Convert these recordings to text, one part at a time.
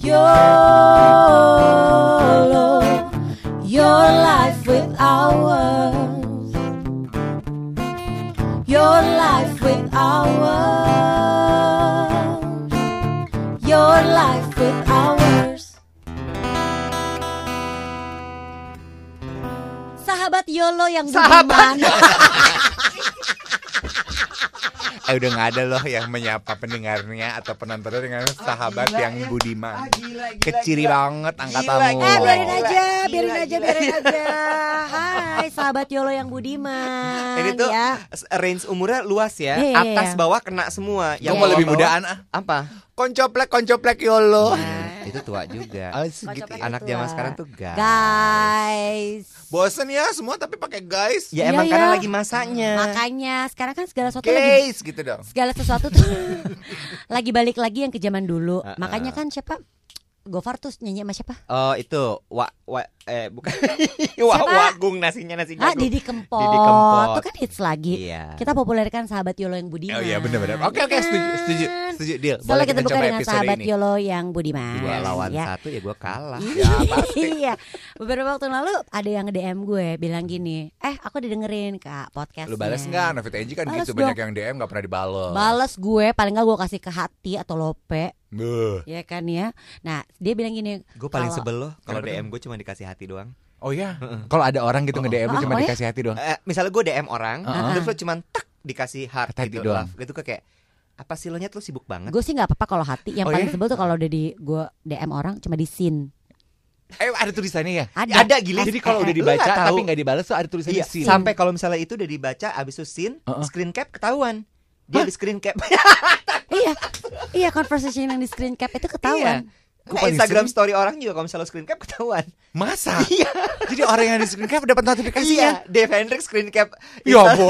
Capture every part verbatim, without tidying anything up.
YOLO, your life with ours, your life with ours, your life with ours. Sahabat YOLO yang budiman. Eh udah gak ada loh yang menyapa pendengarnya atau penontonnya dengan sahabat gila, yang ya. budiman. Ah, gila, gila, Keciri gila. banget angkatanmu. Gila, Eh gila. biarin aja, biarin Gila, aja, gila. biarin aja. Hai sahabat YOLO yang budiman. Ini tuh ya. range umurnya luas ya. Iya, iya, Atas iya. bawah kena semua. Gue mau lebih bawah-bawah- mudaan ah. Apa? Koncoplek koncoplek YOLO. Nah, itu tua juga. Oh, segitu Koncoplek ya. Anak tua. zaman sekarang tuh guys. Guys. Bosen ya semua tapi pakai guys. Ya Iya, emang iya. karena lagi masanya. Makanya sekarang kan segala sesuatu lagi Guys gitu dong. segala sesuatu tuh lagi balik lagi yang ke zaman dulu. Uh-uh. Makanya kan siapa? Gofar tuh nyanyi sama siapa? Oh itu wa wa eh bukan wa Siapa? wagung nasinya nasi Ah, jagung. Didi Kempot. Didi Kempot. Tuh kan hits lagi. Iya. Kita populerkan sahabat YOLO yang budiman. Oh iya benar-benar. Oke oke setuju setuju setuju deal. Selalu kita buka coba dengan episode sahabat ini. YOLO yang budiman. Dua lawan ya. satu ya gue kalah. Ya pasti. Iya. Beberapa waktu lalu ada yang nge-D M gue bilang gini, "Eh, aku didengerin Kak podcastnya." Lu balas enggak? Novita Enji kan Bales gitu dong. banyak yang D M enggak pernah dibales. Bales gue, paling enggak gue kasih ke hati atau lope, Beuh. ya kan ya. Nah, dia bilang gini, Gue paling kalau- sebel loh kalau Kenapa D M gue cuma dikasih hati doang. Oh iya. Kalau ada orang gitu nge-D M lu Oh, cuma oh ya? dikasih hati doang. Eh, misalnya gue D M orang, Uh-uh. terus lo cuma tak dikasih heart Hati gitu, doang. love. Gitu kayak apa sih lo nya tuh sibuk banget. Gue sih nggak apa-apa kalau hati. Yang Oh, paling ya? sebel tuh kalau udah di gue D M orang cuma di scene. Eh ada tulisannya ya? Ada. Ada gila. Jadi kalau udah Lu dibaca nggak tahu. tapi nggak dibales tuh ada tulisannya Iya, scene. sampai kalau misalnya itu udah dibaca abis itu scene, Uh-uh. screen cap ketahuan. Dia di screen cap. Iya, iya conversation yang di screen cap itu ketahuan. Nah, Instagram story orang juga kalau misalnya screen cap ketahuan. Masa? Iya. Jadi orang yang di screen cap dapat notifikasi Iya, ya? Dave Hendrik screen cap. Ya Insta-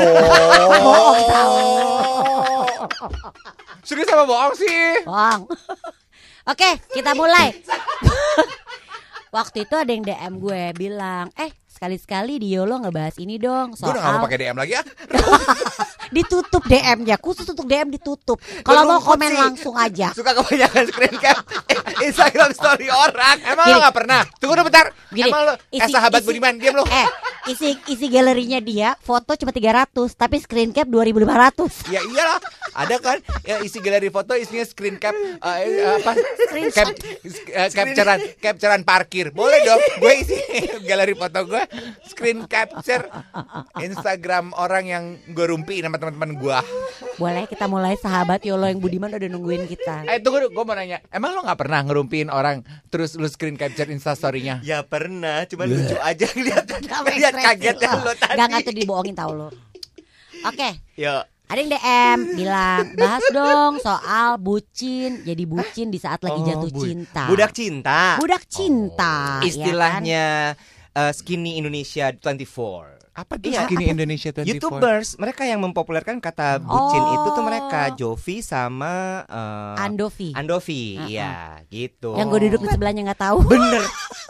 bohong. Serius apa bohong sih? Bohong. Oke, kita mulai. Waktu itu ada yang D M gue bilang, eh sekali-sekali di YOLO ngebahas ini dong Gue udah gak mau soal pakai D M lagi ya. ditutup D M-nya, khusus untuk D M ditutup. Kalau mau Berumput komen sih. langsung aja. Suka kebanyakan screen cap Instagram story orang. Emang Gini. lo gak pernah? Tunggu dulu bentar. Gini, Emang lo eh isi- sahabat isi- Budiman diam lo. Eh, isi isi galerinya dia foto cuma tiga ratus, tapi screen cap dua ribu lima ratus. Ya iyalah, ada kan ya, isi galeri foto isinya screen cap eh, eh, apa? Cap, eh, capturean capturean parkir. Boleh dong. Gue isi galeri foto gue screen capture Instagram orang yang gue rumpi sama teman-teman gue. Boleh kita mulai sahabat YOLO yang budiman udah nungguin kita. Eh tunggu, gue mau nanya. Emang lo nggak pernah ngerumpiin orang terus lu screen capture instastorynya? Ya pernah, cuman lucu aja lihat Sama lihat ekspresi kagetnya lo. lo tadi. Gak nggak tuh dibohongin tau lo. Oke, Yo. ada yang D M bilang bahas dong soal bucin, jadi bucin di saat lagi Oh, jatuh bu- cinta. Budak cinta. Budak cinta. ya kan? Istilahnya uh, Skinny Indonesia dua puluh empat. Apa tuh Iya, Skinny apa? Indonesia dua puluh empat? YouTubers, mereka yang mempopulerkan kata bucin Oh. itu tuh mereka Jovi sama uh, Andovi. Andovi, Uh-uh. iya gitu. Yang gue duduk di sebelahnya nggak tahu. Bener.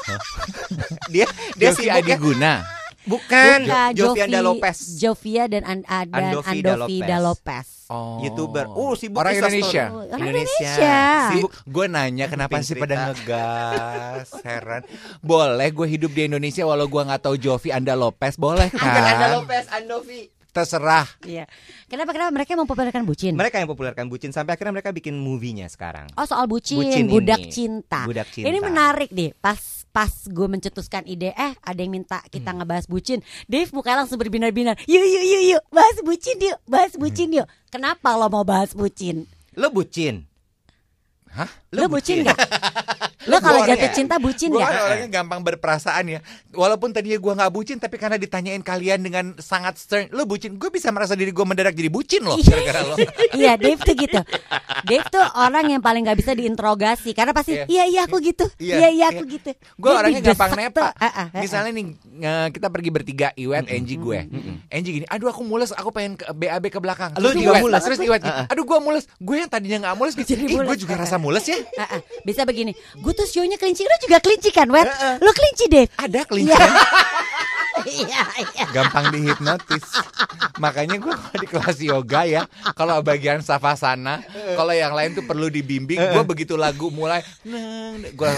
dia dia Jovi sibuk ya. Adiguna. Bukan, Bukan, Jovi Anda Lopez. Jovia dan An- ah, dan Andovi Andovi da da Lopez. Lopez. Oh. YouTuber. Uh, sibuk Orang Instastory. Indonesia. Oh, orang Indonesia. Indonesia. Sibuk. Gue nanya kenapa Bikin sih pada cerita. ngegas, heran. Boleh gue hidup di Indonesia walau gue nggak tahu Jovi Anda Lopez, boleh Bukan Anda kan? Lopez, Andovi. Terserah. Iya. Kenapa kenapa mereka mempopulerkan bucin? Mereka yang populerkan bucin sampai akhirnya mereka bikin movie-nya sekarang. Oh soal bucin, Bucin budak ini. cinta. Budak cinta. Ini menarik deh. Pas pas gue mencetuskan ide, eh ada yang minta kita Hmm. ngebahas bucin. Dave mukanya langsung berbinar-binar. Yuk yuk yuk yuk, bahas bucin yuk, bahas bucin yuk. Kenapa lo mau bahas bucin? Lo bucin? Hah? Lo, bucin nggak? Lo kalau Gua jatuh orangnya- cinta bucin Gue nggak? kan orangnya gampang berperasaan ya. Walaupun tadinya gue nggak bucin, tapi karena ditanyain kalian dengan sangat stern, lo bucin, gue bisa merasa diri gue mendadak jadi bucin loh gara-gara lo. Iya, Dave tuh gitu. Dave tuh orang yang paling nggak bisa diinterogasi karena pasti Iya. iya iya aku gitu, Iya, iya iya aku iya. gitu. Gue Dia orangnya didesak gampang tuh. nepa. Ah, ah, ah, ah. Misalnya nih nge- kita pergi bertiga, Iwet, Angie, gue. Angie gini, aduh aku mules, aku pengen ke B A B ke belakang. Lu Terus juga Iwet, mules? Terus Iwet, Ah, ah. aduh gue mules. Gue yang tadinya nggak mules, gitu. Jadi Ih, gue mules. juga rasa mules ya. Ah, ah. Bisa begini, gue tuh sionya kelinci, lu juga kelinci kan, Wet? Lu kelinci, Dave. Ada kelinci. Iya. Iya, iya. gampang dihipnotis. Makanya gue kalau di kelas yoga ya, kalau bagian savasana, kalau yang lain tuh perlu dibimbing. Gue begitu lagu mulai, gue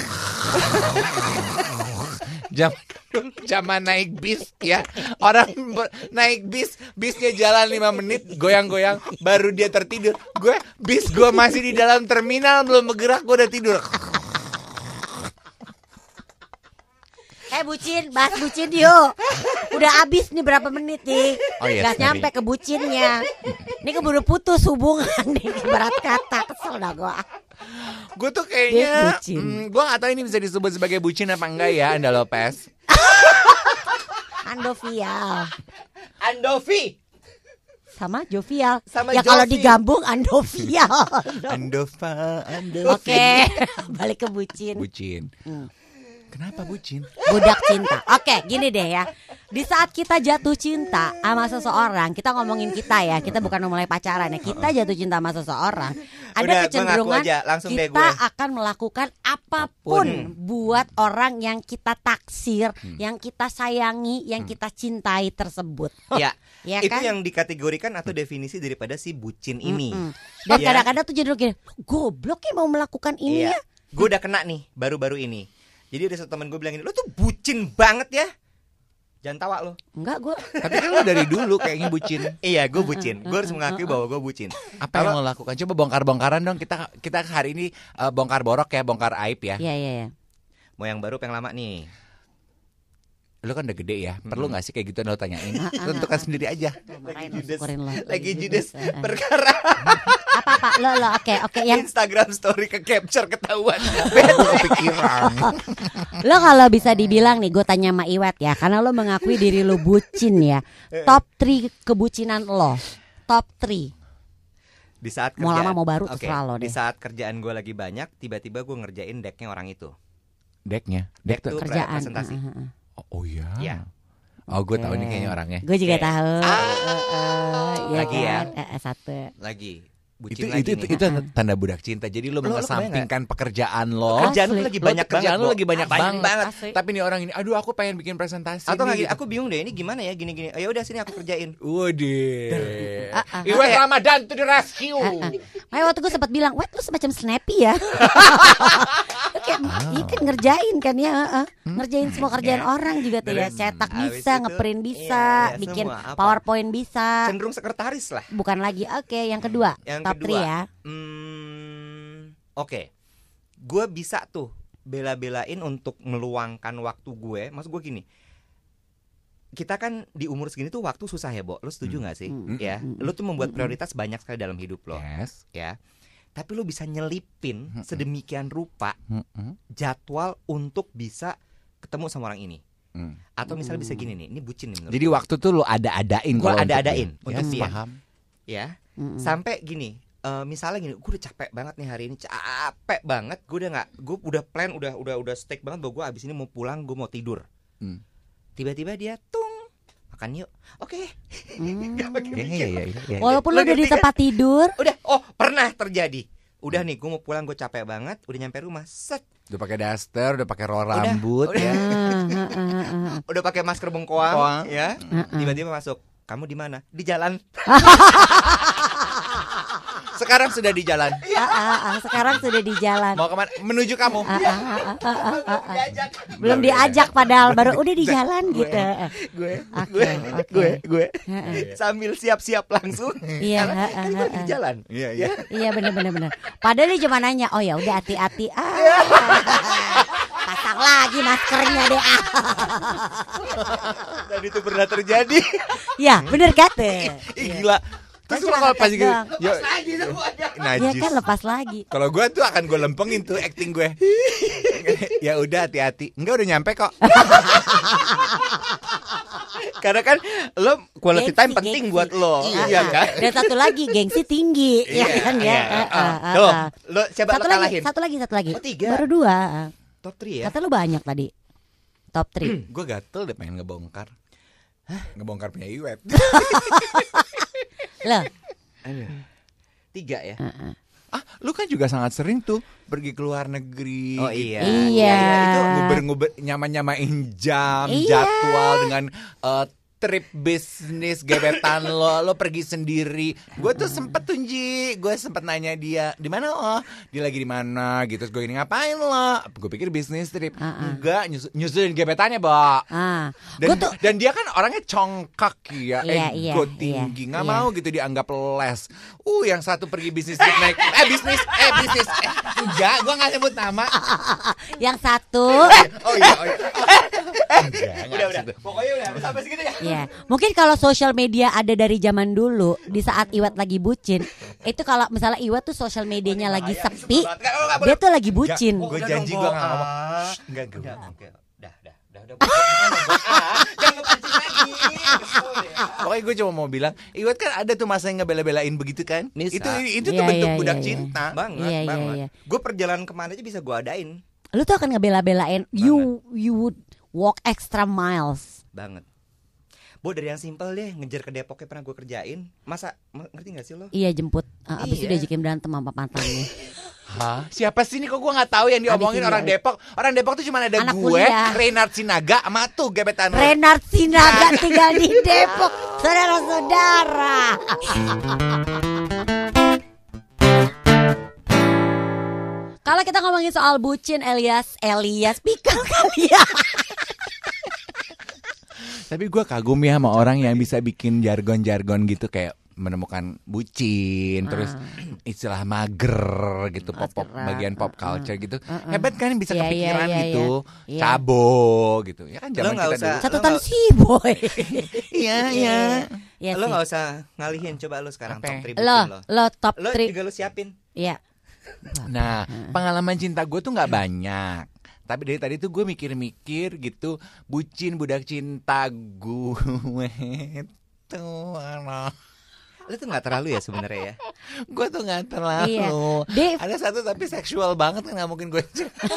jam zaman naik bis ya, orang ber- naik bis, bisnya jalan lima menit, goyang-goyang, baru dia tertidur. Gue bis gue masih di dalam terminal, belum bergerak, gue udah tidur. Eh bucin, bahas bucin yuk. Udah abis nih berapa menit nih. Oh iya, Gak sorry. nyampe ke bucinnya. Ini keburu putus hubungan nih. Berat kata, kesel dah gue. Gue tuh Dia kayaknya, bucin. hmm, gue gak tahu ini bisa disebut sebagai bucin apa enggak ya, Anda Lopez. Andovial. Andovi. Sama jovial. Sama Ya kalau Jovi. digambung andovial. Andova, Andova. Oke, balik ke bucin. Bucin. Hmm. Kenapa bucin? Budak cinta. Oke, gini deh ya. Di saat kita jatuh cinta sama seseorang, kita ngomongin kita ya, kita bukan mulai pacaran ya. Kita jatuh cinta sama seseorang, ada Udah, gua kecenderungan ngaku aja, langsung deh kita gue. akan melakukan apapun buat orang yang kita taksir, yang kita sayangi, yang kita cintai tersebut. Ya, Ya itu kan? yang dikategorikan atau definisi daripada si bucin ini. Mm-mm. Dan Ya. kadang-kadang tuh jadi gini, goblok ya mau melakukan ini Iya. ya. Gue udah kena nih baru-baru ini. Jadi ada satu teman gue bilang gini, lo tuh bucin banget ya. Jangan tawa lo. Enggak, gue Tapi kan lu dari dulu kayaknya bucin. Iya, gue bucin. Gue harus mengakui bahwa gue bucin. Apa yang lo lakukan? Coba bongkar-bongkaran dong. Kita kita hari ini uh, bongkar borok ya, bongkar aib ya. Iya, iya, iya. Mau yang baru, apa yang lama nih? Lu kan udah gede ya. Perlu nggak sih kayak gitu lo tanyain? Ah, ah, Tentukan sendiri aja. Marahin lo, judes. syukurin lo. Lagi judes Eh, eh. perkara Apa-apa, lo, lo, oke, oke. Yang Instagram story ke capture ketahuan. Kepikiran. lo kalau bisa dibilang nih, gue tanya sama Iwet ya, karena lo mengakui diri lo bucin ya. Top tiga kebucinan lo. Top tiga. Di saat Mau kerjaan- lama mau baru, Oke, terserah lo Di deh. saat kerjaan gue lagi banyak, tiba-tiba gue ngerjain decknya orang itu. Decknya. Deck tuh. Itu Kerjaan. presentasi. Uh, uh, uh. Oh, oh iya. Iya. Oh, gue tahu nih kayaknya orangnya. Gue juga Oke. tahu. Ah. Uh, uh, iya Lagi ya. kan? Eh, eh, satu. Lagi Itu bucin itu lagi itu, nih. itu tanda budak cinta. Jadi lo Lo- lo mengesampingkan pekerjaan lo. Kerjaan Asli. lu lagi Lo banyak tuh kerjaan banget. lo Bo. lagi banyak, banget. banget. Asli. Tapi nih orang ini, aduh aku pengen bikin presentasi Atau nggak nih, gini, gitu. aku bingung deh ini gimana ya gini-gini. Ya udah sini aku kerjain. Waduh. Ah, ah, Iwet ah. Ramadan to the rescue. Makanya waktu gue sempat bilang, Wet lu semacam snappy ya. Lu kayak, iya kan ngerjain kan ya, uh, uh. ngerjain semua kerjaan orang juga tuh ya. Terus, Cetak habis bisa, itu, ngeprint bisa, iya, iya, bikin semua, apa. PowerPoint bisa. Cenderung sekretaris lah. Bukan lagi. Oke, yang kedua, Yang top kedua, tiga ya. Hmm, oke. Gue bisa tuh bela-belain untuk meluangkan waktu gue. Maksud gue gini. Kita kan di umur segini tuh waktu susah ya, Bo. Lo setuju nggak sih? Hmm. Ya. Hmm. Lo tuh membuat prioritas banyak sekali dalam hidup lo, Yes. ya. Tapi lo bisa nyelipin Hmm. sedemikian rupa Mm-mm. jadwal untuk bisa ketemu sama orang ini. Mm. Atau misalnya bisa gini nih, ini bucin nih menurut Jadi gue. waktu tuh lo ada-adain. Gua kalau untuk ada-adain dia. untuk Yes, dia. paham. ya. Mm-mm. Sampai gini, eh, misalnya gini, gue udah capek banget nih hari ini, capek banget, gue udah nggak, gue udah plan, udah udah udah stick banget bahwa gue abis ini mau pulang, gue mau tidur. Hmm. Tiba-tiba dia tung, makan yuk, oke. Hmm. Nggak pakai Iya, mikir. iya, iya, iya. Walaupun Lo lu udah di ngerti kan? tempat tidur, Udah, oh pernah terjadi. Udah nih, gue mau pulang, gue capek banget, udah nyampe rumah, set, Udah pakai daster, udah pakai roll Udah, rambut udah. ya. ah, ah, ah, ah. udah pakai masker bengkoang, Bengkoang. ya. Mm-mm. Tiba-tiba masuk, kamu di mana? Di jalan. Sekarang sudah di jalan. Ah, ah, ah, sekarang sudah di jalan. Mau kemana? Menuju kamu. Ah, ah, ah, ah, ah, ah, ah. Belum diajak padahal baru udah di jalan gitu. gue, Oke, gue, oke. gue, gue, Heeh. sambil siap-siap langsung. Iya, Karena heeh, kan gue di heeh. jalan. Iya, iya. Iya benar benar benar. Padahal dia cuma nanya, oh ya udah hati-hati. Ah, pasang lagi maskernya deh. Ah. Dan itu pernah terjadi. Ya benar kata. Ih, gila. Terus Kan kalau cuma pas ngetes gitu, doang. yo, Lagi semuanya. Ya najis. kan lepas lagi. Kalau gue tuh akan gue lempengin tuh acting gue. Ya udah hati-hati. Enggak udah nyampe kok. Karena kan lo quality Gengsi, time penting gengsi. buat lo. Ah, Iya ah. kan? Dan satu lagi gengsi tinggi, ya kan ya. Iya, Ah, ah. ah, ah, Tuh, ah. lo coba Satu lo lagi, kalahin. satu lagi, satu lagi. Oh, tiga. Baru dua. Top tiga ya. Kata lu banyak tadi. Top tiga. Gue gatel deh pengen ngebongkar. Ngebongkar punya Iwet. Loh, Aduh. Tiga ya. ah, ah. Ah, lu kan juga sangat sering tuh pergi ke luar negeri. Oh iya. Iya. Itu nguber-nguber nyama-nyamain jam, Iya. jadwal dengan uh, trip bisnis gebetan lo, lo pergi sendiri. Gue tuh sempet tuh Ji, gue sempet nanya dia, di mana lo? Dia lagi di mana gitu. Terus gue ini ngapain lo? Gue pikir bisnis trip. Uh-uh. Enggak, nyusul, nyusulin gebetannya, Mbak. Ah, Dan, gue tuh dan dia kan orangnya congkak ya, Iya, iya, ego iya, tinggi, nggak iya. mau gitu dianggap les. Uh, yang satu pergi bisnis trip naik, eh bisnis, eh bisnis, eh enggak, gue nggak sebut nama. yang satu. Oh iya, oh iya. Enggak, enggak Udah udah. situ. Pokoknya udah sampai segitu ya. Ya, mungkin kalau sosial media ada dari zaman dulu, di saat Iwat lagi bucin, itu kalau misalnya Iwat tuh sosial medianya lagi sepi, dia tuh lagi bucin. Gue janji gue nggak ngomong. Ah. Shh, Enggak gue. Udah, oke. Dah, dah, dah, udah. Ah, jangan kepancing lagi. Kesel ya. Pokoknya gue cuma mau bilang, Iwat kan ada tuh masa yang ngebela-belain begitu kan? Bisa. Itu itu tuh Iya, bentuk iya, budak iya, iya. cinta. Banget, Iya, iya, banget. iya. Gue perjalanan kemana aja bisa gue adain. Lu tuh akan ngebela-belain, you you would walk extra miles. Banget. Bo, dari yang simpel deh, ngejar ke Depoknya pernah gue kerjain. Masa, m- ngerti gak sih lo? Iya jemput, uh, abis itu Iya. diajakin berantem sama mantannya. Hah? Siapa sih ini kok gue nggak tahu yang diomongin Adik orang ini. Depok? Orang Depok tuh cuma ada Anak gue, kuliah. Reynard Sinaga, sama tuh gebetan lo. Renard Sinaga tinggal di Depok, saudara-saudara. Kalau kita ngomongin soal bucin, Elias, Elias Pikal kali ya. Tapi gue kagum ya sama orang yang bisa bikin jargon-jargon gitu kayak menemukan bucin, terus istilah mager gitu, pop-pop Mageran, bagian pop uh, culture gitu. uh, uh. Hebat kan bisa Iya, kepikiran iya, iya, gitu. iya. Cabo gitu. Ya kan Lo zaman nggak kita usah- dulu. Catatan Lo- si boy. Iya, iya. Iya Lo sih. gak usah ngalihin, coba lo sekarang Apa? top three Lo, bucin lo. lo top Lo three. juga lo siapin. Iya. Nah, pengalaman cinta gue tuh nggak banyak. Tapi dari tadi tuh gue mikir-mikir gitu, bucin budak cinta gue tuh anak. Lo tuh gak terlalu ya sebenarnya ya. Gue tuh nggak terlalu. Iya. Dave. Ada satu tapi seksual banget kan nggak mungkin gue.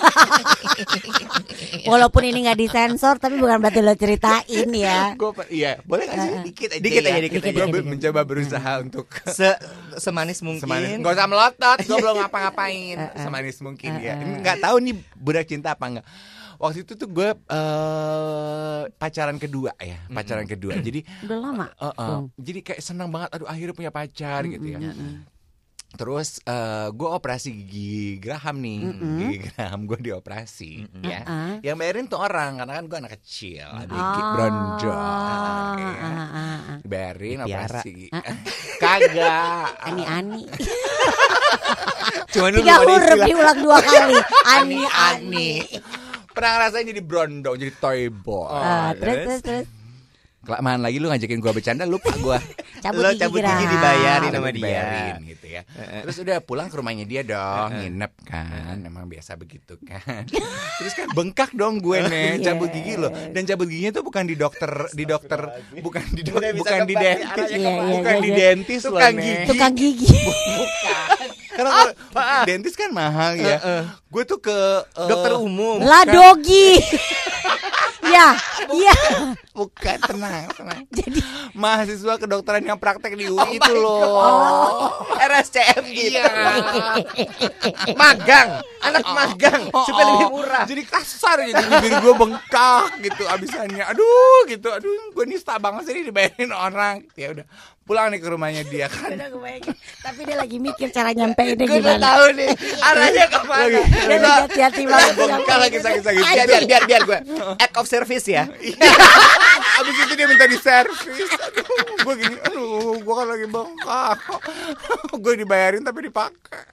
Walaupun ini nggak disensor, tapi bukan berarti lo ceritain ya. Gue iya boleh nggak sih Uh, uh. dikit aja Dikit ya? aja, dikit Gue aja. be- mencoba berusaha untuk Se semanis mungkin. semanis. Gak usah melotot, gue belum ngapa-ngapain. Uh, uh. Semanis mungkin Uh, ya. uh. Nggak tahu nih budak cinta apa enggak. Waktu itu tuh gue eh, pacaran kedua ya, pacaran kedua. Jadi Udah lama. uh, uh, Bung. jadi kayak senang banget. Aduh akhirnya punya pacar gitu ya. Mm-mm. Terus eh, gue operasi gigi Graham nih, Mm-mm. gigi Graham gue dioperasi, ya. Uh-uh. Yang bayarin tuh orang, karena kan gue anak kecil, adik Oh, bronjol, ah, ya. ah, ah, ah. Bayarin Dipiara. operasi gigi. Kagak. Ani-ani. Cuman lu Tiga belum ada huruf istilah. diulang dua kali. Ani-ani. Ani-ani. Pernah ngerasain jadi brondong, jadi toy boy. Ah, terus terus terus. Kelamaan lagi lu ngajakin gua bercanda, lupa gua. Cabut Lo gigi cabut Graham. gigi dibayarin Tapi sama dia. dibayarin gitu ya. Terus udah pulang ke rumahnya dia dong, nginep kan. Emang biasa begitu kan. Terus kan bengkak dong gue nih, Iya. cabut gigi loh. Dan cabut giginya tuh bukan di dokter, di dokter, bukan di dokter, Udah bisa bukan di kebalik, dentist, arahnya Iya, iya, bukan iya, di iya. dentist loh, Tukang Nek. gigi. Tukang gigi. Karena kalau dentist kan mahal ya. Gue tuh ke eh, Dokter umum. Lah dogi. Ya, iya. bukan, tenang, tenang. Jadi Mahasiswa kedokteran yang praktek di U I itu my loh. R S C M gitu. Iya. Magang, anak magang Oh, supaya oh. lebih murah. Jadi kasar jadi bibir gue bengkak gitu abisannya. Aduh gitu. Aduh gue nista banget sih dibayarin orang. Ya udah pulang nih ke rumahnya dia kan. udah kebayang. Tapi dia lagi mikir cara nyampeinnya Gue udah gimana. tahu nih arahnya kemana. Lagi- Dia lagi hati-hati banget. Bengkak lagi sakit-sakit. Biar biar biar biar gue act of service ya. Abis itu dia minta di servis. Aduh, gue gini, aduh, gue kan lagi bengkak. Gue dibayarin tapi dipakai.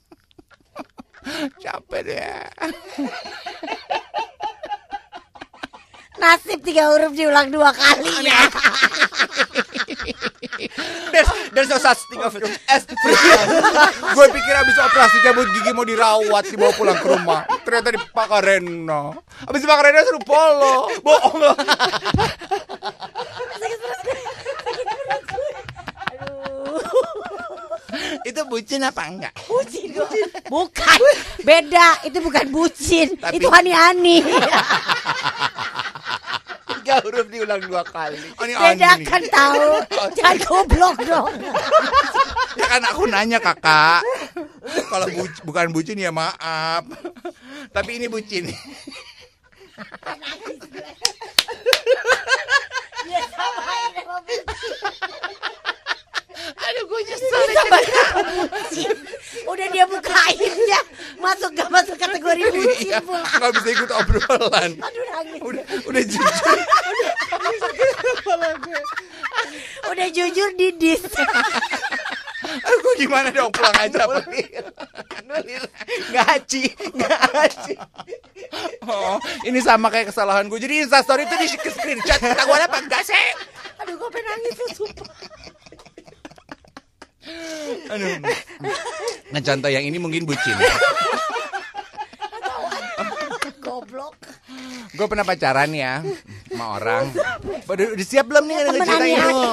Capek deh. Nasib tiga huruf diulang dua kali ya. There's, there's no such thing of as Gue pikir abis operasi cabut gigi mau dirawat, dibawa pulang ke rumah. Ternyata dipakai Reno. Abis dipakai Reno suruh polo. Bohong loh. Itu bucin apa enggak? Bucin, bucin. Bukan. Beda, itu bukan bucin. Tapi- Itu ani-ani. tiga huruf diulang dua kali. Oh, ini Ani Beda nih. kan tahu. Jangan goblok dong. Ya kan aku nanya kakak. kalau bu- bukan bucin ya maaf. Tapi ini bucin. Dia samain sama bucin. Aduh gue nyesel. Bucin. Udah dia bukainnya masuk gak masuk kategori bucin Iya, pula. nggak bisa ikut obrolan. Aduh nangis. Udah udah jujur. Udah jujur didis. Aduh gue gimana dong, pulang aja apa? Ngaci, ngaci. Oh, ini sama kayak kesalahan gue. Jadi Instastory itu di screenshot. Kata gue apa enggak sih? Aduh gue pengen nangis tuh sumpah. Aduh. Nah contoh yang ini mungkin bucin. Goblok. Gue pernah pacaran ya sama orang. Udah, udah siap belum nih Temen ngeceritain aneh. lu?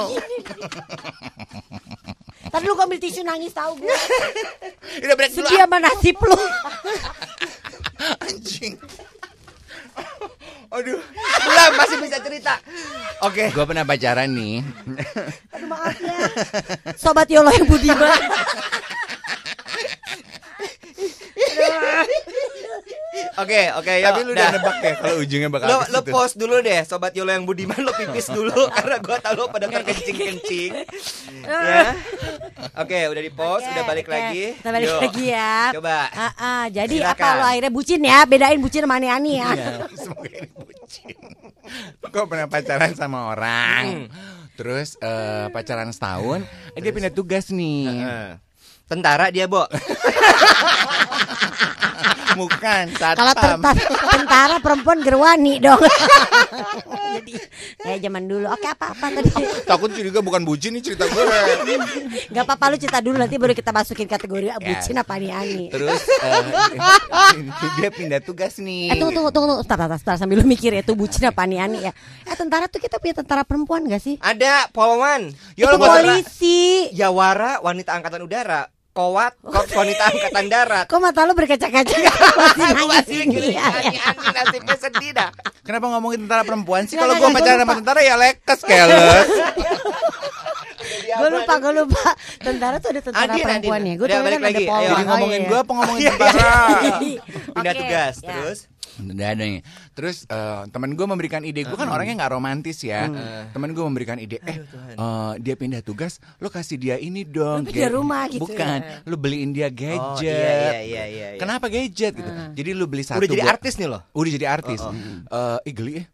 Tadi lu ambil tisu nangis tahu gue. Udah break dulu. Sedia sama nasib lu. Anjing. Aduh, belum masih bisa cerita. Oke. Gue pernah pacaran nih. Aduh maaf ya. Sobat Yolo yang budiman. Oke, oke, yuk. Tapi lu udah dah. nebak ya kalau ujungnya bakal Lo, ke lo situ. pause dulu deh, sobat Yolo yang budiman, lo pipis dulu karena gua tahu lo pada terkencing-kencing. Ya. Oke, udah di pause, Oke, udah balik oke. lagi. Kita balik Yuk. lagi ya. Coba. Ah, ah, jadi Silakan. apa lo akhirnya bucin ya? Bedain bucin sama ani-ani ya. Iya, semoga ini bucin. Gue pernah pacaran sama orang. Terus eh, pacaran setahun, eh, dia pindah tugas nih. Heeh. Tentara dia, Bo. Bukan, Kalau satpam. ter- tentara perempuan gerwani dong. Jadi kayak zaman dulu. Oke apa-apa tadi. Takut juga bukan bucin nih cerita gue. Gak apa-apa lu cerita dulu nanti baru kita masukin kategori ah, bucin apa ani-ani. Terus eh, dia pindah tugas nih. Eh tunggu tunggu tunggu Start, start, start, sambil lu mikir ya itu bucin apa ani-ani ya. Eh tentara tuh kita punya tentara perempuan gak sih? Ada Polawan. Ya, Itu lo gua- polisi. Yawara wanita angkatan udara. Kowat korps wanita angkatan darat. Kok mata lu berkaca-kaca? Masih nangis ini ya. Ani-ani nasibnya sedih dah. Kenapa ngomongin tentara perempuan sih? Nggak, Kalau nggak, gue nggak, pacaran gua sama lupa. tentara ya lekes keles. Gue lupa, gue lupa. Tentara tuh ada tentara Adin, perempuan Adin. ya. Gue Udah, tuh balik kan ada lagi. Polwan. Ayo. Jadi Oh, ngomongin iya. gue apa ngomongin tentara? Pindah Oke, tugas ya. terus. Udah ada nih. Terus eh, teman gue memberikan ide. Gue kan orangnya nggak romantis ya. Teman gue memberikan ide. Eh, eh, dia pindah tugas. Lo kasih dia ini dong. Lu pindah Ga- rumah gitu Bukan. ya. Lo beliin dia Oh, gadget. iya, iya, iya, iya. Kenapa gadget gitu? Jadi lo beli satu. Udah jadi buat- artis nih lo. Udah jadi artis. Oh, oh. Eh, ih, geli ya.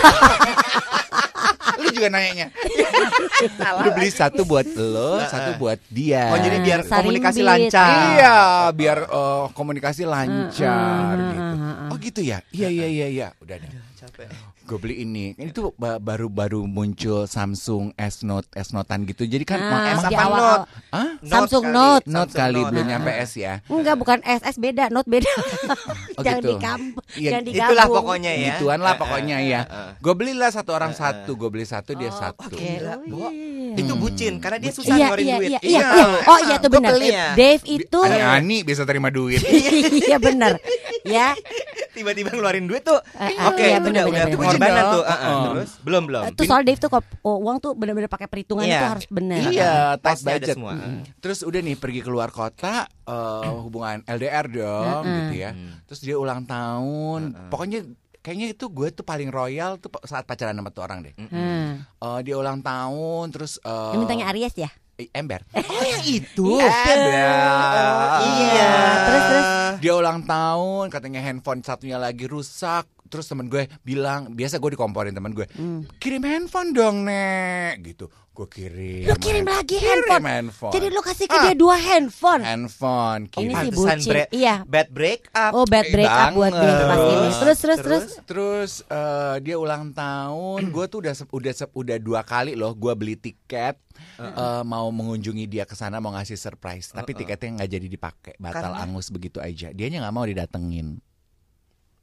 Lu juga nanyanya. Lu beli satu buat lo, satu buat dia. Oh, jadi biar Saring komunikasi beat. lancar. Iya, biar eh, komunikasi lancar Uh, uh, gitu. uh, uh, uh. Oh gitu ya? Iya iya iya iya. Udah deh. Capek. Gue beli ini. Ini tuh ba- baru-baru muncul Samsung S Note, S Note-an gitu. Jadi kan Ah, ma- S ma- di apa awal- Note? Hah? Samsung kali. Note. Note Samsung kali Note. belum nyampe S ya. Enggak, bukan S S beda, Note beda. Oh, Jangan gitu. digabung, Iya, jangan digabung. Itulah pokoknya ya. Gituan lah Eh, pokoknya eh, ya. eh, eh. Gue belilah satu orang satu. Gue beli satu dia Oh, satu. oke. Gila, Oh, Bo. iya. Itu bucin karena dia susah Iya, ngeluarin iya, duit. iya, iya, iya. Oh iya tuh Gua benar. pelit. Dave itu Ani-ani bisa terima duit. iya benar. Ya. Tiba-tiba ngeluarin duit tuh. Eh, eh, Oke, iya, itu benar, udah benar, udah benar. pengorbanan Bucin tuh. dong. Ah, ah. Oh. Terus belum belum. Itu soal Dave tuh kalau oh, uang tuh benar-benar pakai perhitungan Iya. itu harus benar. Iya, tight Tasnya ada budget. semua. Mm. Terus udah nih pergi keluar kota, eh, hubungan L D R dong, Mm-mm. gitu ya. Terus dia ulang tahun, pokoknya kayaknya itu gue tuh paling royal tuh saat pacaran sama tuh orang deh. Hmm. Eh, dia ulang tahun, terus eh, Yang mintanya Aries ya? eh, ember. Oh, yang itu. Ember. Iya. Terus terus Dia ulang tahun, katanya handphone satunya lagi rusak. Terus temen gue bilang, biasa gue dikomporin temen gue, kirim handphone dong nek, gitu. Gue kirim. lu kirim lagi Kirim handphone. handphone. Jadi lu kasih ke Ah. dia dua handphone. handphone. Ini Kirim. sih Pantesan bucin. bre- Iya. Bad break up. Oh bad break up buat dia banget. pas ini. Terus terus terus. Terus eh, dia ulang tahun, gue tuh udah sep- udah sep- udah dua kali loh, gue beli tiket eh, mau mengunjungi dia ke sana mau ngasih surprise, tapi tiketnya nggak jadi dipakai, batal Karena? angus begitu aja. Dianya nggak mau didatengin.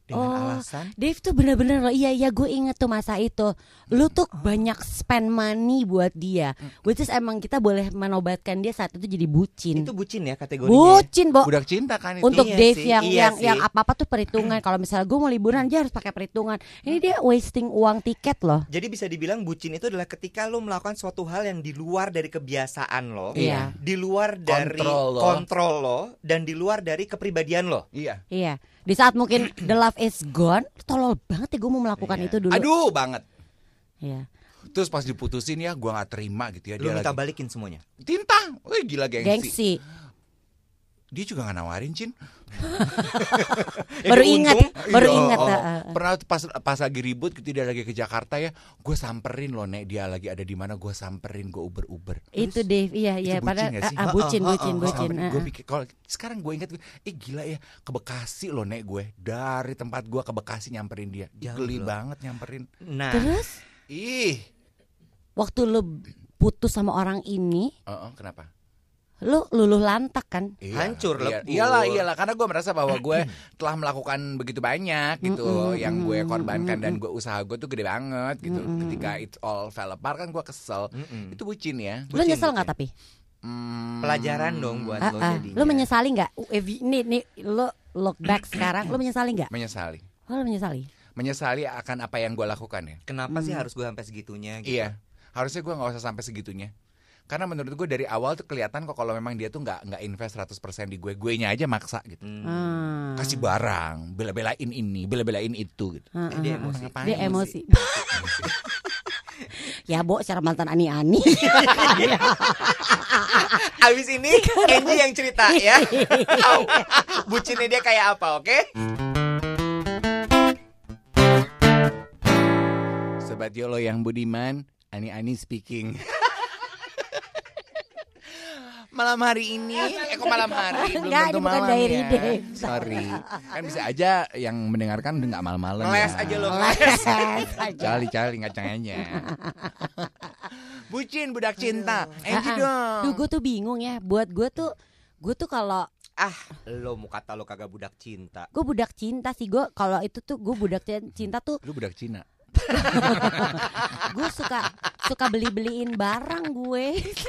Dengan Oh, alasan Dave tuh bener-bener loh. Iya iya gue inget tuh masa itu. Lu tuh banyak spend money buat dia. Which is emang kita boleh menobatkan dia saat itu jadi bucin. itu bucin ya kategorinya. Bucin, Bo. Budak cinta kan itu. Untuk Iya Dave sih, yang iya yang sih. yang apa-apa tuh perhitungan. Kalau misalnya gue mau liburan dia harus pakai perhitungan. Ini dia wasting uang tiket loh. Jadi bisa dibilang bucin itu adalah ketika lo melakukan suatu hal yang di luar dari kebiasaan lo, Iya. di luar dari Kontrol lo. kontrol lo, dan di luar dari kepribadian lo. Iya. Iya. Di saat mungkin the love is gone, tolol banget ya gue mau melakukan Iya. itu dulu. Aduh banget. Iya. Terus pas diputusin ya gue gak terima gitu ya. Lo Dia minta lagi balikin semuanya. Tintang. Wih gila gengsi. Gengsi. Dia juga gak nawarin Cin. Baru dia ingat, untung. baru Iya, ingat. oh. ah, ah, ah. Pernah tuh pas pas lagi ribut gitu dia lagi ke Jakarta ya, gue samperin loh Nek, dia lagi ada di mana, gue samperin, gue uber-uber. Itu Dave, iya iya. Itu bucin Padahal nggak sih? ah, ah, bucin, Ah, ah, bucin, ah, bucin. Samperin, ah, gue ah. pikir kalau sekarang gue ingat, eh gila ya ke Bekasi loh Nek, gue dari tempat gue ke Bekasi nyamperin dia. Jauh Geli loh. banget nyamperin. Nah, Terus Ih, waktu lu putus sama orang ini, oh, oh, kenapa? lu luluh lantak kan? Iya, Hancur, iya, lebur. iyalah iyalah karena gue merasa bahwa gue telah melakukan begitu banyak gitu Mm-mm, yang gue mm-mm, korbankan dan mm-mm. gue usaha gue tuh gede banget gitu. Mm-mm. Ketika it all fell apart kan gue kesel. mm-mm. Itu bucin ya. Lu Bucin, nyesel bucin. nggak tapi? Hmm. Pelajaran dong buat Ah, lo ah. jadinya. Lu menyesali nggak? If you- Nih nih lu look back sekarang, lu menyesali nggak? Menyesali. Oh, lu menyesali. Menyesali akan apa yang gue lakukan ya. Kenapa sih Hmm. harus gue sampai segitunya? Gitu? Iya. Harusnya gue nggak usah sampai segitunya. Karena menurut gue dari awal tuh kelihatan kok kalau memang dia tuh nggak nggak invest seratus persen di gue, gue nya aja maksa gitu. Hmm. Ah. Kasih barang, bela-belain ini, bela-belain itu gitu. Ah, Eh, ah, dia ah. emosi. Ngapain Dia sih? emosi. Ya, Bo, secara mantan ani-ani. Abis ini Angie yang cerita ya. Tahu bucinnya dia kayak apa, oke? Sobat Yolo yang budiman, Ani-Ani speaking. Malam hari ini, eh kok malam hari? Belum Enggak, tentu ini bukan malam diary ya. Dave. Sorry. Kan bisa aja yang mendengarkan udah nggak malam-malam Ngeles ya. aja lo. Cali-cali kacangnya. Bucin, budak cinta. Angie Ah, ah. dong. Duh, gue tuh bingung ya. Buat gue tuh, gue tuh kalau Ah, lo mau kata lo kagak budak cinta. gue budak cinta sih, gue kalau itu tuh gue budak cinta tuh Lu budak Cina. gue suka suka beli beliin barang gue.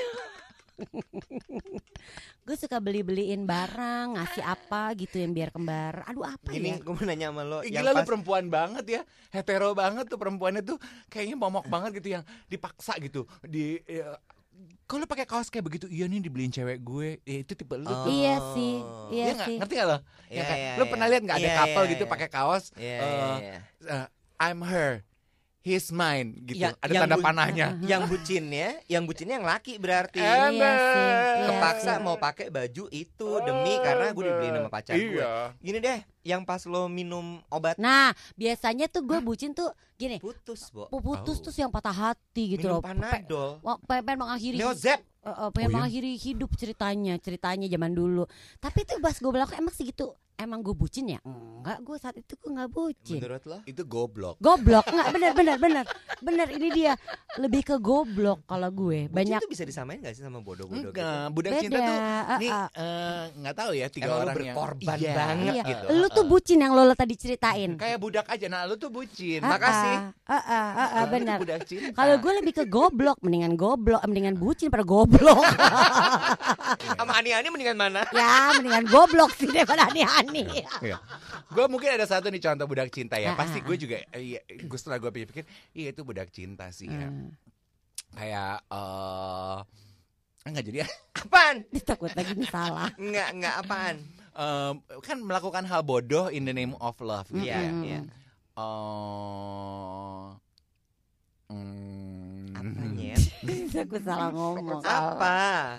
Gue suka beli beliin barang, ngasih apa gitu yang biar kembar. Aduh apa Gini, ya? gue mau nanya sama lo. Ih, yang gila lu pas- perempuan banget ya. Hetero banget tuh perempuannya tuh kayaknya momok banget gitu yang dipaksa gitu. Di ya, kalau pakai kaos kayak begitu, iya nih dibeliin cewek gue. Ya, itu tipe lu tuh. Iya sih, iya Iya nggak? sih. Ngerti gak lo? Iya, Ya kan? iya, Lu iya. pernah lihat nggak ada Iya, couple iya, gitu iya. pakai kaos Iya, eh, iya, iya. eh, I'm her, he's mine gitu. Yang- ada yang tanda bu- panahnya. Yang bucinnya, yang bucinnya yang laki berarti. Iya sih, iya Kepaksa sih. mau pakai baju itu demi karena gue dibeliin sama pacar gue. Iya. Gini deh, yang pas lo minum obat Nah, biasanya tuh gue bucin tuh gini, putus, Bo. putus Oh. tuh yang patah hati gitu Minum loh. Pe- Panadol. Wah, pengen, pengen mengakhiri Neozep. eh, eh, pengen Oh, iya? mengakhiri hidup ceritanya, ceritanya zaman dulu. Tapi itu pas gue bilang emang segitu, emang gue bucin ya? Enggak, gue saat itu gue nggak bucin. Menurut lo? Itu goblok. Goblok, enggak benar benar benar. Benar ini dia lebih ke goblok kalau gue. Bucin Banyak tuh bisa disamain gak sih sama bodoh-bodoh gitu? Enggak, budak Beda, cinta tuh ah, nih ah. eh, nggak tahu ya tiga Emang lu orang berkorban yang banget iya. gitu. Lu tuh bucin yang lo tadi ceritain. Kayak budak aja. Nah, lu tuh bucin. Ah, Makasih. ah, ah, ah, ah, ah, Lu benar. tuh budak cinta. Kalau gue lebih ke goblok, mendingan goblok, eh, mendingan bucin pada goblok. Sama ani-ani mendingan mana? Ya, mendingan goblok sih daripada ani-ani. Iya. Gue mungkin ada satu nih contoh budak cinta ya. Ah, Pasti ah, gue juga eh, iya, gue setelah gue pikir-pikir, iya itu budak cinta sih ya. Hmm. Kayak eh enggak jadi ya. Apaan? Takut lagi nih salah. Enggak, enggak apaan? Em, kan melakukan hal bodoh in the name of love gitu Iya, ya. Mm-mm. iya. Eh, mm, Apanya? Aku salah ngomong. Apa?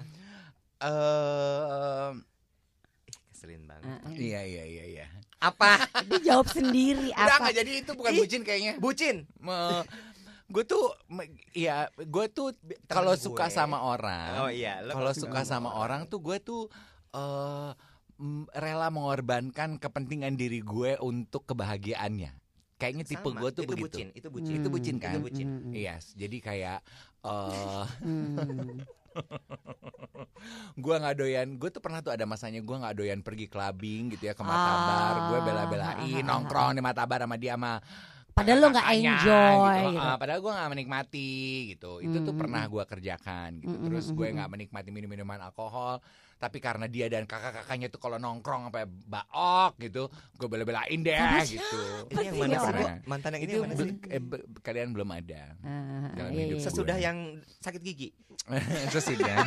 Eh, Ih, keselin banget. Ah, ah. iya iya iya iya. Apa? Dia jawab sendiri Udah apa? nggak jadi itu bukan Ih. bucin kayaknya. Bucin. Gue tuh, me- ya gue tuh kalau gue. suka sama orang, Oh iya, lo kalau kalau suka sama orang tuh gue tuh eh mm, rela mengorbankan kepentingan diri gue untuk kebahagiaannya. Kayaknya tipe Sama, gue tuh itu begitu. bucin, itu bucin. Itu bucin kan? Itu bucin. Hmm, Yes, jadi kayak eh hmm. Gue nggak doyan, gue tuh pernah tuh ada masanya gue nggak doyan pergi clubbing gitu ya ke Matabar, gue bela-belain nongkrong di Matabar sama dia sama Padahal lo nggak kakaknya enjoy gitu. gitu. Ah, padahal gue nggak menikmati gitu. Itu tuh Mm, pernah mm, gue kerjakan gitu. Mm, mm, Terus mm, gue mm. nggak menikmati minum-minuman alkohol. Tapi karena dia dan kakak-kakaknya tuh kalau nongkrong sampai baok gitu, gue bela-belain deh Sama gitu. Ini yang Sih, mana sih, orang. Bo? Mantan yang ini Itu yang mana sih? be- eh, be- kalian belum ada. Ah, Dalam iya, hidup iya. Sesudah gue. yang sakit gigi. Sesudah.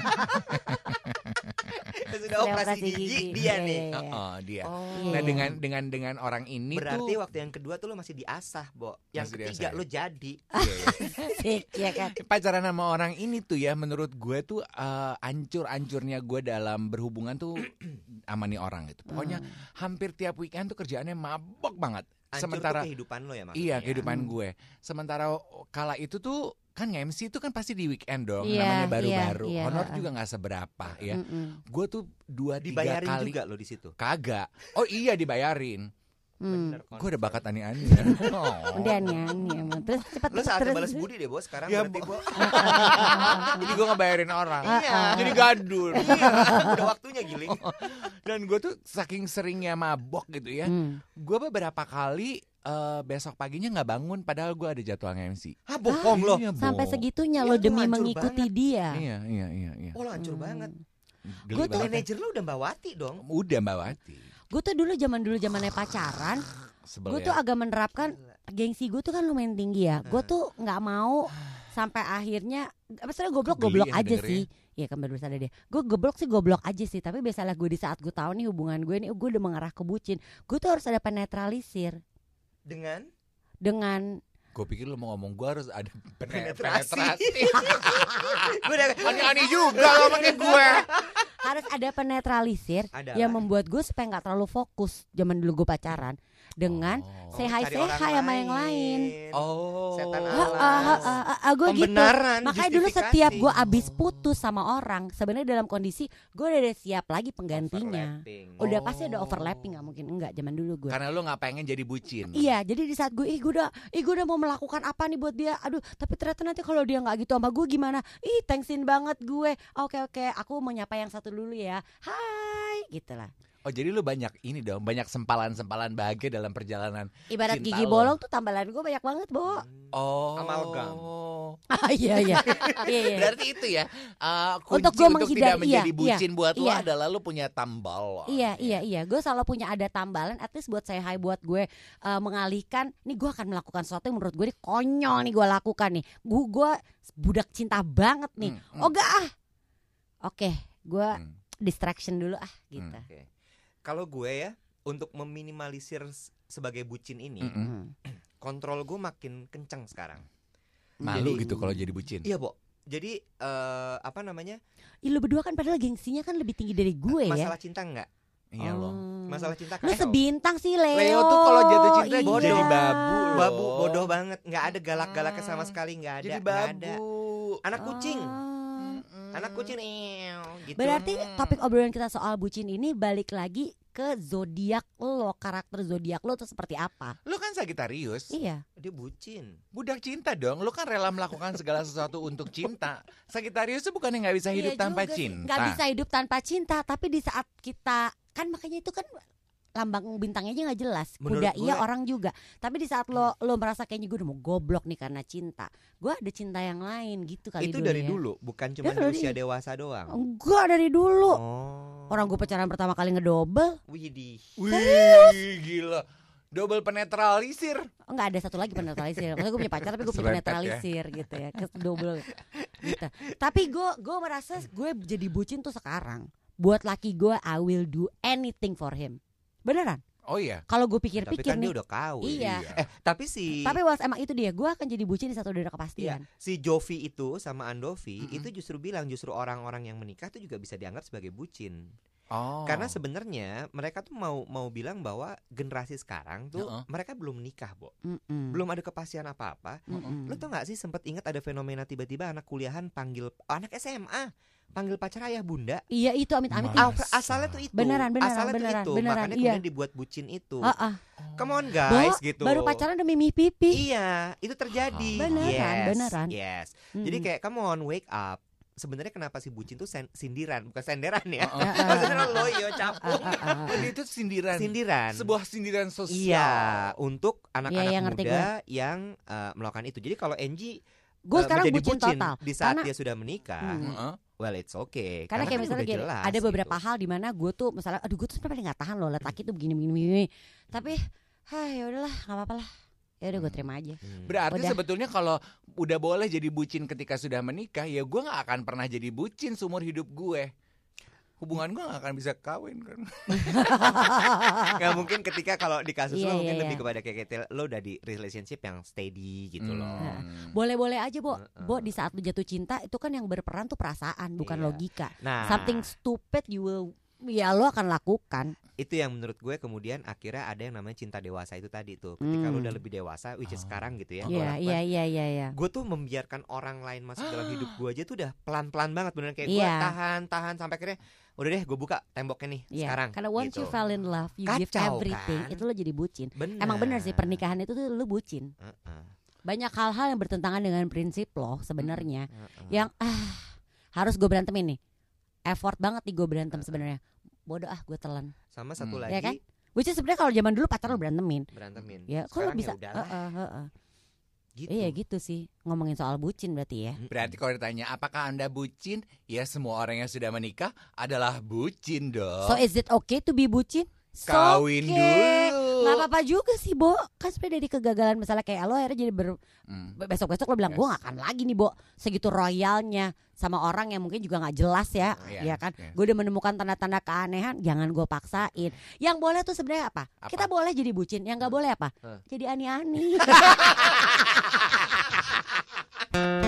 Sesudah operasi Operasi gigi, gigi. dia Iya, nih. iya, iya. Oh, dia. Oh. Nah dengan dengan dengan orang ini Berarti tuh waktu yang kedua tuh lo masih diasah, Bo. Yang Masih ketiga diasah, lo jadi. Asik ya kan. pacaran sama orang ini tuh ya menurut gue tuh eh, ancur-ancurnya gue dalam berhubungan tuh sama nih orang gitu. Pokoknya hampir tiap weekend tuh kerjaannya mabok banget. Hancur Sementara tuh kehidupan lo ya maksudnya. iya ya? kehidupan Hmm. gue. Sementara kala itu tuh kan M C itu kan pasti di weekend dong. Iya, Namanya baru-baru. iya, iya, Honor ha-ha. juga nggak seberapa ya. Mm-mm. Gue tuh dua tiga Dibayarin kali juga lo di situ. kagak. Oh iya dibayarin. Hmm. Bener, Gue udah bakat ani-ani. Oh. Udah nyanyi emang. Terus cepat Lo saatnya terus. balas budi deh, Bo. Sekarang Ya, berarti, Bo. Bo. Jadi gue ngebayarin orang. Iya. Jadi gadul. Iya, udah waktunya giling. Dan gue tuh saking seringnya mabok gitu ya. Hmm. Gue beberapa kali eh, besok paginya nggak bangun padahal gue ada jadwal M C. Ah, bohong lo. Iya, Sampai Bo. segitunya Iya, lo lu demi hancur mengikuti banget. dia. Iya, iya, iya, iya. Oh, lo hancur Hmm. banget. Geli Gua tuh banget. Manajer lo udah Mbak Wati dong. Udah Mbak Wati. Gue tuh dulu zaman dulu zamannya pacaran, Sebel gue ya. tuh agak menerapkan gengsi gue tuh kan lumayan tinggi ya. Gue tuh nggak mau sampai akhirnya, maksudnya goblok Kok geli goblok ya aja dengernya? sih. Iya kan baru sadar deh. Gue goblok sih goblok aja sih. Tapi biasalah gue di saat gue tahu nih hubungan gue nih, gue udah mengarah ke bucin. Gue tuh harus ada penetralisir Dengan dengan Gue pikir lo mau ngomong gue harus ada pene- Penetrasi. penetrasi. gue udah Ani-ani juga lo pakai gue. harus ada penetralisir Ada yang lah. membuat gue supaya nggak terlalu fokus zaman dulu gue pacaran dengan Oh. say hi cari say orang hi sama yang lain. Oh. Setan Ah, alam. ah, ah, ah, ah, gue gitu. Pembenaran, Makanya dulu justifikasi. setiap gue abis putus sama orang, sebenarnya dalam kondisi gue udah ada siap lagi penggantinya. Overlapping. Udah Oh. pasti ada overlapping, nggak mungkin enggak zaman dulu gue. Karena lo nggak pengen jadi bucin. Iya, jadi di saat gue, ih gue udah, ih gue udah mau melakukan apa nih buat dia. Aduh, tapi ternyata nanti kalau dia nggak gitu sama gue gimana? Ih, thanksin banget gue. Oke oke, aku mau nyapa yang satu dulu ya. Hai, gitulah. Oh jadi lu banyak ini dong, banyak sempalan-sempalan bahagia dalam perjalanan. Ibarat cinta gigi lo. bolong tuh tambalan gue banyak banget, Bo. Oh. Amalgam. Ah, iya iya. Iya, iya. Berarti itu ya uh, kunci Untuk untuk, gua tidak menghindari, menjadi iya, bucin iya, buat lo iya. adalah lo punya tambal. Iya iya iya, gue selalu punya ada tambalan, at least buat saya hai buat gue uh, mengalihkan. Nih gue akan melakukan sesuatu yang menurut gue ini konyol nih gue lakukan nih. Gue gue budak cinta banget nih. Hmm, hmm. Oh gak ah. Oke, gue Hmm. distraction dulu ah gitu. Hmm. Oke. Kalau gue ya, untuk meminimalisir s- sebagai bucin ini, Mm-mm. Hmm. kontrol gue makin kencang sekarang. Malu Jadi- gitu kalau jadi bucin. Iya, Bo. Jadi eh, apa namanya? Ih, lu berdua kan padahal gengsinya kan lebih tinggi dari gue ya. Masalah cinta enggak? Iya loh. Oh. Masalah cinta Lu kan sebintang sih Leo. Leo tuh kalau jatuh cinta Iya. jadi babu loh. babu bodoh banget, nggak ada galak-galaknya sama sekali, nggak ada. Jadi nggak babu. ada. Anak kucing, Ah. anak kucing, ew, gitu. Berarti topik obrolan kita soal bucin ini balik lagi ke zodiak lo, karakter zodiak lo tuh seperti apa? Lu kan Sagitarius. Iya. dia bucin. Budak cinta dong. Lu kan rela melakukan segala sesuatu untuk cinta. Sagitarius tuh bukannya nggak bisa hidup Iya tanpa juga sih. cinta. Nggak bisa hidup tanpa cinta. Tapi di saat kita kan makanya itu kan lambang bintangnya aja nggak jelas. Menurut Kuda gue- iya, orang juga. Tapi di saat lo lo merasa kayaknya gue udah mau goblok nih karena cinta, gue ada cinta yang lain gitu kali Itu dulu dari ya. dulu, bukan cuma Dari- di usia dewasa doang. Enggak, dari dulu. Oh. Orang gue pacaran pertama kali ngedobel. Widih. Wih, gila. Double penetralisir. Enggak ada satu lagi penetralisir. Maksudnya gue punya pacar tapi gue punya Serempet ya. penetralisir gitu ya, ke double gitu. Tapi gue gue merasa gue jadi bucin tuh sekarang. Buat laki gue, I will do anything for him. Beneran. Oh iya. Kalau gue Tapi pikir-pikir kan nih. dia udah kawin. Iya. Eh, tapi si Tapi was emang itu dia. Gue akan jadi bucin di satu udah ada Iya, kepastian. si Jovi itu sama Andovi Mm-mm. itu justru bilang justru orang-orang yang menikah tuh juga bisa dianggap sebagai bucin. Oh. Karena sebenarnya mereka tuh mau mau bilang bahwa generasi sekarang tuh Heeh. mereka belum nikah, Bo. Mm-mm. Belum ada kepastian apa-apa. Mm-mm. Lo tau gak sih sempat ingat ada fenomena tiba-tiba anak kuliahan panggil anak S M A panggil pacar ayah bunda. Iya itu amit-amit. Ma- Al- asalnya tuh itu. Beneran, beneran, asalnya beneran, tuh itu. beneran, Makanya iya. kemudian dibuat bucin itu. Ah, ah. Come on Bo, guys gitu. baru pacaran udah mimih pipi. Iya, itu terjadi. Beneran, yes, beneran. Yes. Mm-mm. Jadi kayak come on wake up. sebenarnya kenapa si bucin tuh sen- sindiran bukan senderan ya. Oh, oh. Maksudnya lo yo capung. Jadi itu sindiran. Sindiran. Sebuah sindiran sosial. Iya, untuk anak-anak Iya, iya, ngerti muda yang uh, melakukan itu. Jadi kalau Angie Gue uh, sekarang menjadi bucin total. di saat Karena- dia sudah menikah, Hmm. Heeh. well it's okay. Karena kayak kan misalnya udah gini, jelas ada beberapa gitu. hal di mana gue tuh misalnya, aduh gue tuh sebenarnya paling nggak tahan loh liat laki tuh begini begini begini. Tapi, hah ya udahlah, nggak apa-apa lah. Ya udah gue terima aja. Hmm. Berarti Udah. sebetulnya kalau udah boleh jadi bucin ketika sudah menikah, ya gue nggak akan pernah jadi bucin seumur hidup gue. Hubungan gue nggak akan bisa kawin kan. Nggak mungkin ketika kalau di kasus Iya, lo mungkin iya, lebih iya. kepada kayak gitu, lo udah di relationship yang steady gitu loh. Hmm. Boleh-boleh aja, Bo. Heeh. Bo, di saat lu jatuh cinta itu kan yang berperan tuh perasaan, bukan Iya. logika. Nah, Something stupid you will, ya lo akan lakukan. itu yang menurut gue kemudian akhirnya ada yang namanya cinta dewasa itu tadi tuh. Ketika Hmm. lo udah lebih dewasa, which is Oh. sekarang gitu ya. Iya, Gua iya, lakukan. iya, iya, iya. Gue tuh membiarkan orang lain masuk dalam hidup gue aja tuh udah pelan-pelan banget beneran kayak gue Iya. tahan tahan sampai akhirnya udah deh gue buka temboknya nih Iya. sekarang. Karena once gitu. you fell in love, you give Kacau, everything. kan? Itu lo jadi bucin. Bener. Emang bener sih pernikahan itu tuh lo bucin. Heeh, Banyak hal-hal yang bertentangan dengan prinsip lo sebenarnya. heeh. Yang ah harus gue berantemin nih. Effort banget nih gue berantem sebenarnya. Bodoh ah gue telan. Sama satu Hmm. lagi Ya kan? Which is sebenarnya kalau zaman dulu pacar lo berantemin. berantemin. Ya, kalau Sekarang bisa. ya udahlah, Heeh, heeh. gitu. Iya gitu sih. Ngomongin soal bucin berarti ya. Mm-mm. Berarti kalau ditanya apakah Anda bucin? Ya semua orang yang sudah menikah adalah bucin dong. So is it okay to be bucin? So Kawin okay. dulu. Gak apa-apa juga sih, Bo. Kan sebenarnya dari kegagalan misalnya kayak lo akhirnya jadi ber... Hmm. besok-besok lo bilang Yes. gue gak akan lagi nih, Bo, segitu royalnya sama orang yang mungkin juga gak jelas ya. Iya, Ya kan? yes. Gue udah menemukan tanda-tanda keanehan, jangan gue paksain. Yang boleh tuh sebenarnya apa? Apa? Kita boleh jadi bucin, yang gak boleh apa? Huh. Jadi ani-ani.